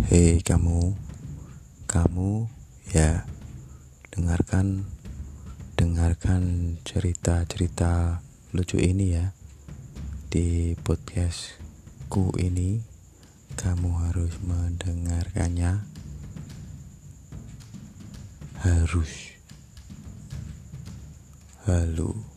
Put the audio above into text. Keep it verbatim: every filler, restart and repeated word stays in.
Hei kamu, kamu ya dengarkan, dengarkan cerita-cerita lucu ini ya di podcastku ini. Kamu harus mendengarkannya, harus. Halo.